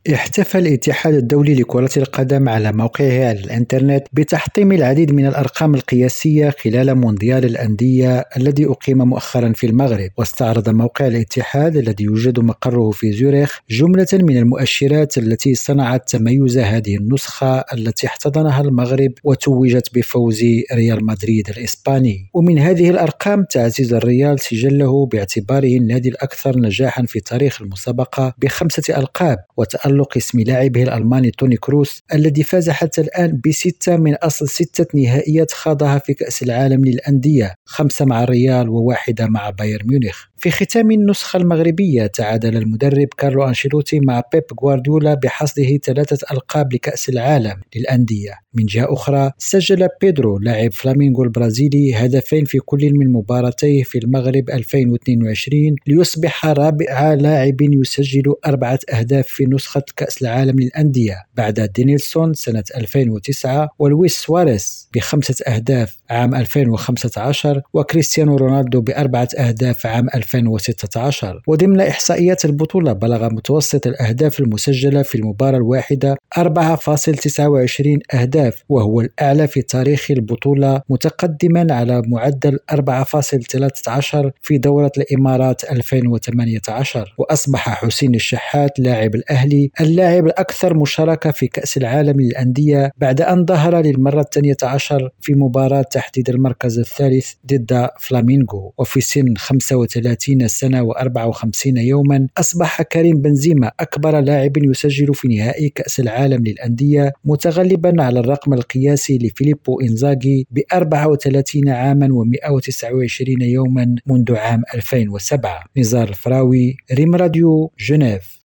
احتفل الاتحاد الدولي لكرة القدم على موقعه على الإنترنت بتحطيم العديد من الأرقام القياسية خلال مونديال الأندية الذي أقيم مؤخرا في المغرب. واستعرض موقع الاتحاد الذي يوجد مقره في زيورخ جملة من المؤشرات التي صنعت تميز هذه النسخة التي احتضنها المغرب وتوجت بفوز ريال مدريد الإسباني. ومن هذه الأرقام تعزز الريال سجله باعتباره النادي الأكثر نجاحا في تاريخ المسابقة ب5 ألقاب، وتألق اسم لاعبه الألماني توني كروس الذي فاز حتى الآن ب6 من أصل 6 نهائيات خاضها في كأس العالم للأندية، 5 مع الريال وواحدة مع بايرن ميونخ. في ختام النسخة المغربية تعادل المدرب كارلو أنشيلوتي مع بيب غوارديولا بحصده 3 ألقاب لكأس العالم للأندية. من جهة أخرى سجل بيدرو لاعب فلامينغو البرازيلي هدفين في كل من مباراتيه في المغرب 2022 ليصبح رابع لاعب يسجل 4 أهداف في نسخة كأس العالم للأندية بعد دينيلسون سنة 2009 ولويس سواريز ب5 أهداف عام 2015 وكريستيانو رونالدو ب4 أهداف عام 2016. وضمن إحصائيات البطولة بلغ متوسط الأهداف المسجلة في المباراة الواحدة 4.29 أهداف، وهو الأعلى في تاريخ البطولة، متقدما على معدل 4.13 في دورة الإمارات 2018. وأصبح حسين الشحات لاعب الأهلي اللاعب الأكثر مشاركة في كأس العالم للأندية بعد أن ظهر للمرة 12 في مباراة تحديد المركز الثالث ضد فلامينغو. وفي سن 35 سنة و54 يوما أصبح كريم بنزيما أكبر لاعب يسجل في نهائي كأس العالم للأندية، متغلبا على الرقم القياسي لفيليبو إنزاغي ب34 عاما و129 يوما منذ عام 2007. نزار الفراوي، ريم راديو، جنيف.